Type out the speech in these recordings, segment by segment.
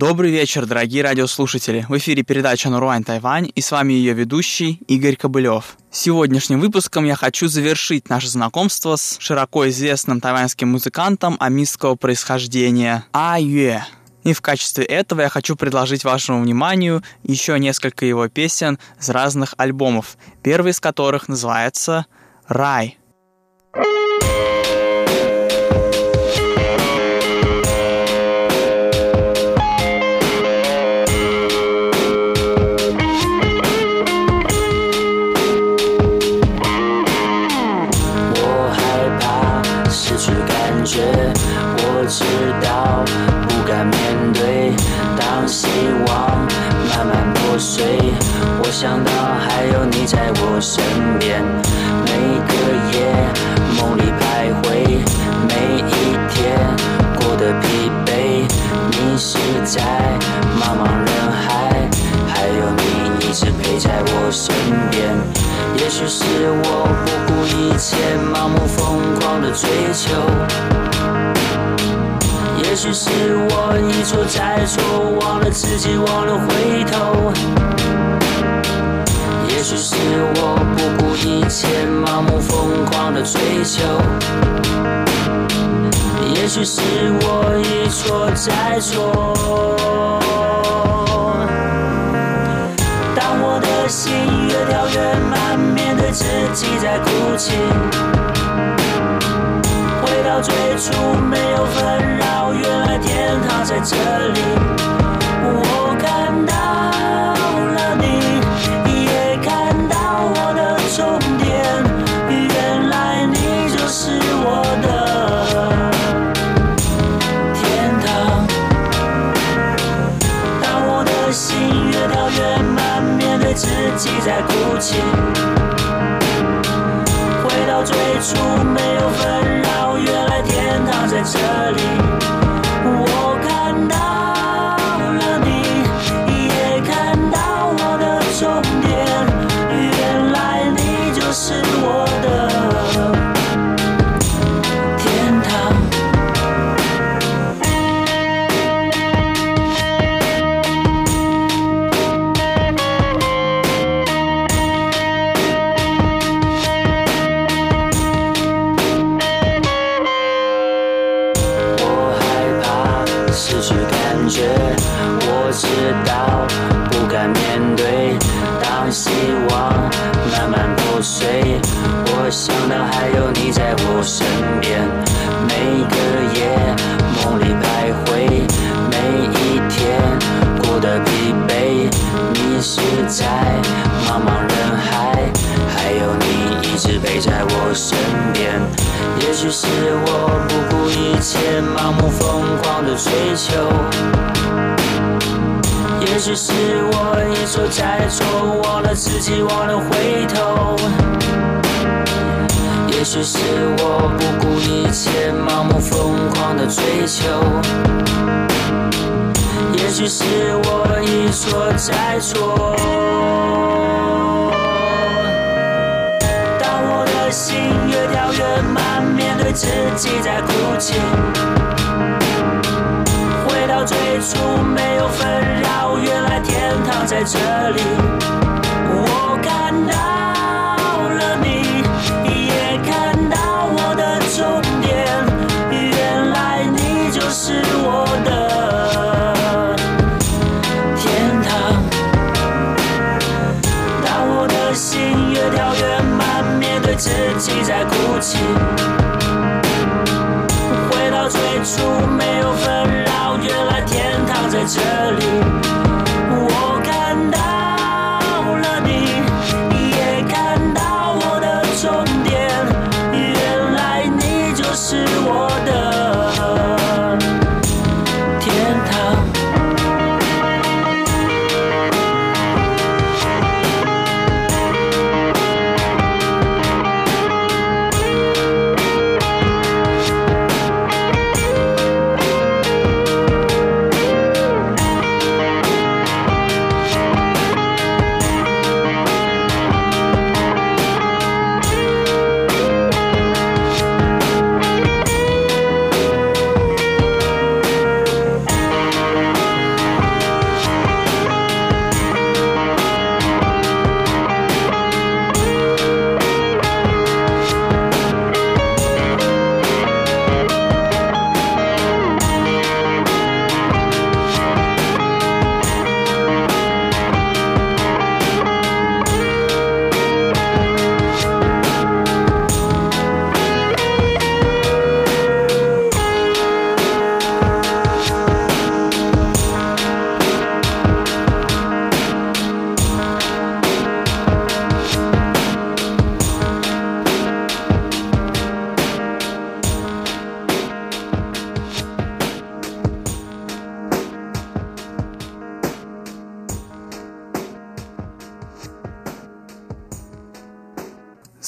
Добрый вечер, дорогие радиослушатели. В эфире передача «Наруань Тайвань» и с вами ее ведущий Игорь Кобылев. Сегодняшним выпуском я хочу завершить наше знакомство с широко известным тайваньским музыкантом амистского происхождения А Юэ. И в качестве этого я хочу предложить вашему вниманию еще несколько его песен с разных альбомов, первый из которых называется «Рай». 我知道不敢面对，当希望慢慢破碎，我想到还有你在我身边，每个夜梦里徘徊，每一天过得疲惫，你是在茫茫人海，还有你一直陪在我身边，也许是我不顾一切盲目疯狂的追求，也许是我一错再错，忘了自己，忘了回头，也许是我不顾一切盲目疯狂的追求，也许是我一错再错。当我的心越跳越慢，面对自己在哭泣，回到最初没有纷扰，原来天堂在这里，我看到了你，也看到我的终点，原来你就是我的天堂。当我的心越跳越慢，面对自己在哭泣，回到最初没有纷扰，原来天堂在这里，我看到了你，也看到我的终点，原来你就是我的天堂。我知道不敢面对，当希望慢慢破碎，我想到还有你在我身边，每个夜梦里徘徊，每一天过得疲惫，你是在茫茫人海，还有你一直陪在我身边，也许是我不顾一切盲目疯狂的追求，也许是我一错再错，忘了自己，忘了回头，也许是我不顾一切盲目疯狂的追求，也许是我一错再错。当我的心越跳越慢，面对自己在哭泣，回到最初没有纷扰，原来天堂在这里，我看到了你，也看到我的终点，原来你就是我的天堂。当我的心越跳越慢，面对自己在哭泣，回到最初没有纷扰，原来天堂在这里，我看到了你，也看到我的终点，原来你就是我的天堂。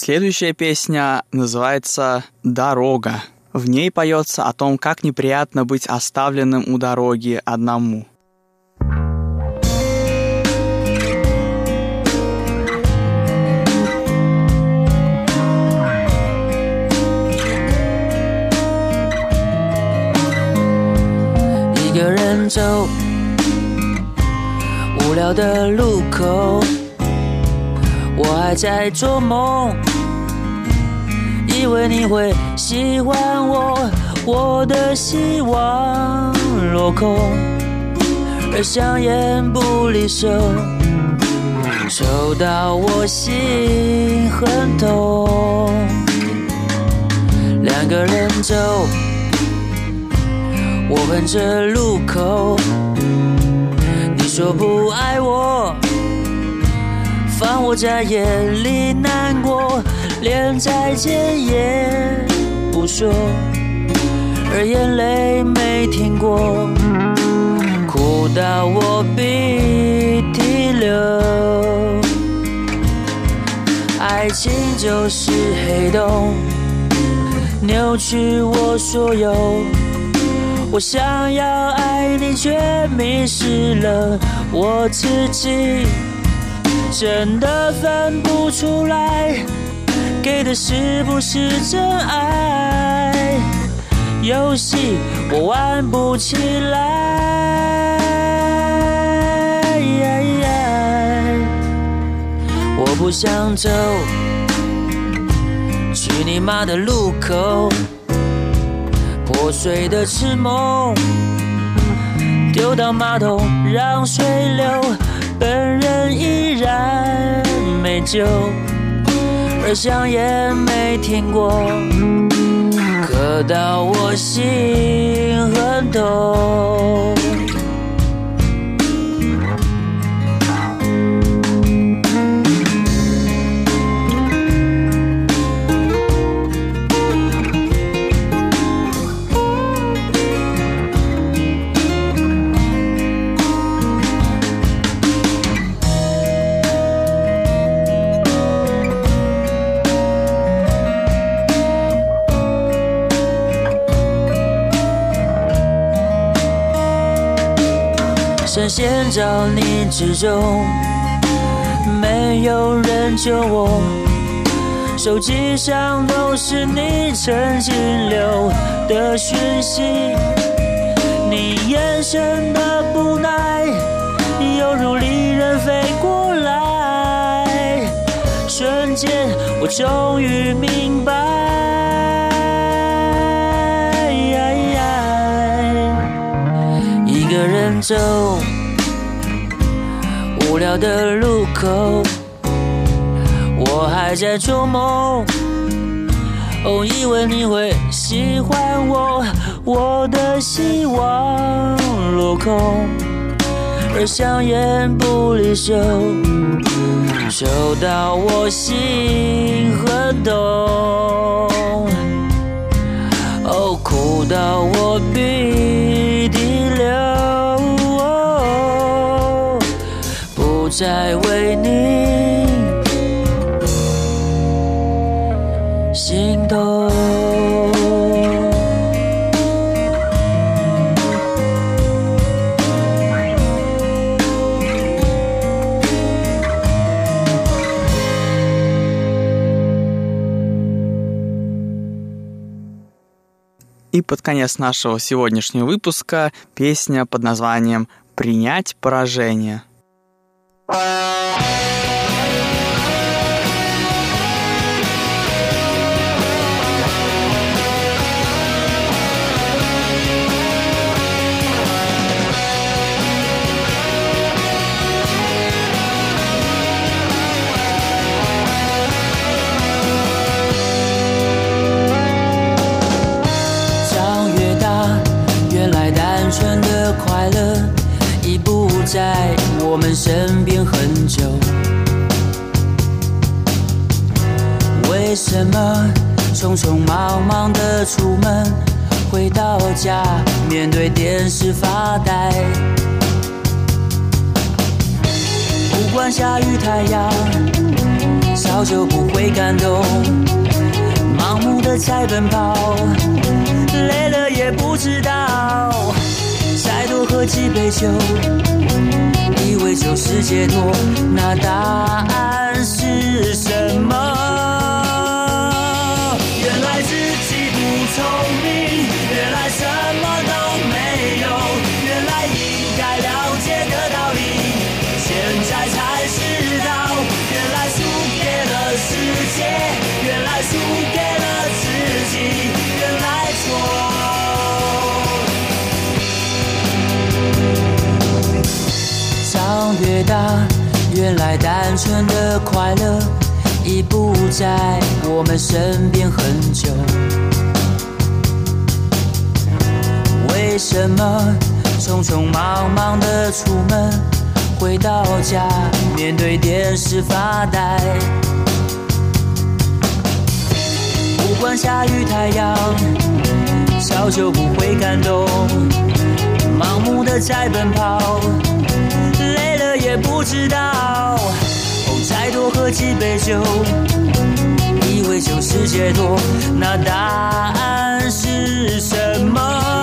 Следующая песня называется «Дорога». В ней поется о том, как неприятно быть оставленным у дороги одному. 一个人走无聊的路口，我还在做梦，以为你会喜欢我，我的希望落空，而香烟不离手，抽到我心很痛。两个人走，我哼着路口，你说不爱我，放我在眼里难过，连再见也不说，而眼泪没停过，哭到我鼻涕流。爱情就是黑洞，扭曲我所有，我想要爱你，却迷失了我自己，真的分不出来，给的是不是真爱？游戏我玩不起来，我不想走去你妈的路口，破碎的痴梦丢到马桶让水流，本人依然没救，而香烟没停过，刻到我心很痛。深陷着你之中，没有人救我，手机上都是你曾经留的讯息，你眼神的不耐犹如利刃飞过来，瞬间我终于明白，一个人走无聊的路口，我还在做梦，以为你会喜欢我，我的希望落空，而香烟不离手，抽到我心很痛，哭到我鼻涕流，不再为你心动。 И под конец нашего сегодняшнего выпуска песня под названием «Принять поражение». 快乐已不在我们身边很久，为什么匆匆忙忙的出门，回到家面对电视发呆？不管下雨太阳，上早就不会感动，盲目的在奔跑，累了也不知道再多喝几杯酒，以为就是解脱，那答案是什么？原来自己不聪明，原来什么都没有，原来应该了解的道理，现在才知道，原来输给了世界，原来输给了自己，原来错。长越大，原来单纯的快乐已不在我们身边很久。为什么匆匆忙忙的出门，回到家面对电视发呆？不管下雨太阳，早就不会感动，盲目的在奔跑，累了也不知道，再多喝几杯酒，以为就是解脱，那答案是什么？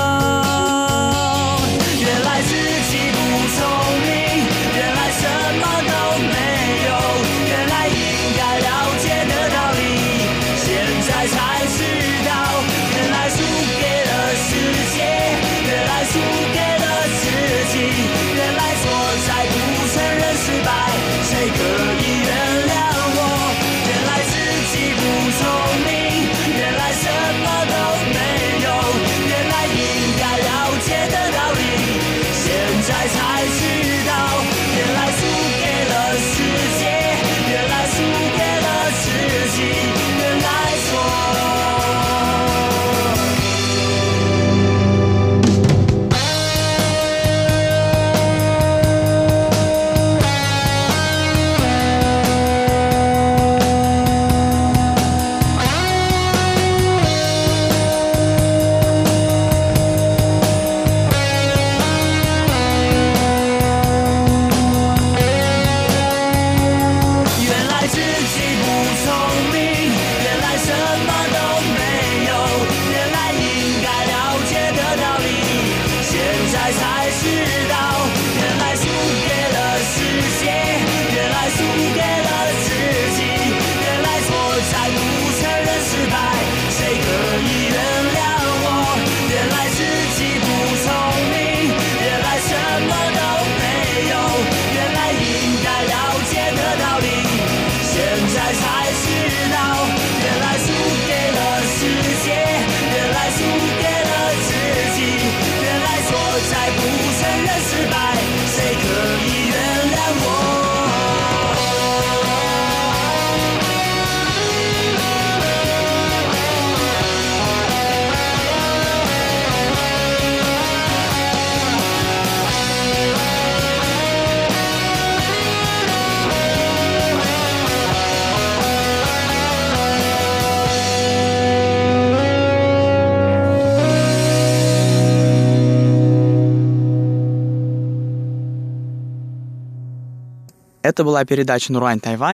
原来自己不聪明，原来什么都没有，原来应该了解的道理，现在才知道，原来输给了世界，原来输给了自己，原来错在不承认失败，谁可以原谅我？原来自己不聪明，原来什么都没有，原来应该了解的道理，现在才知道，原来输给了世界，原来输给了自己，原来错。 Это была передача «Нурань Тайвань».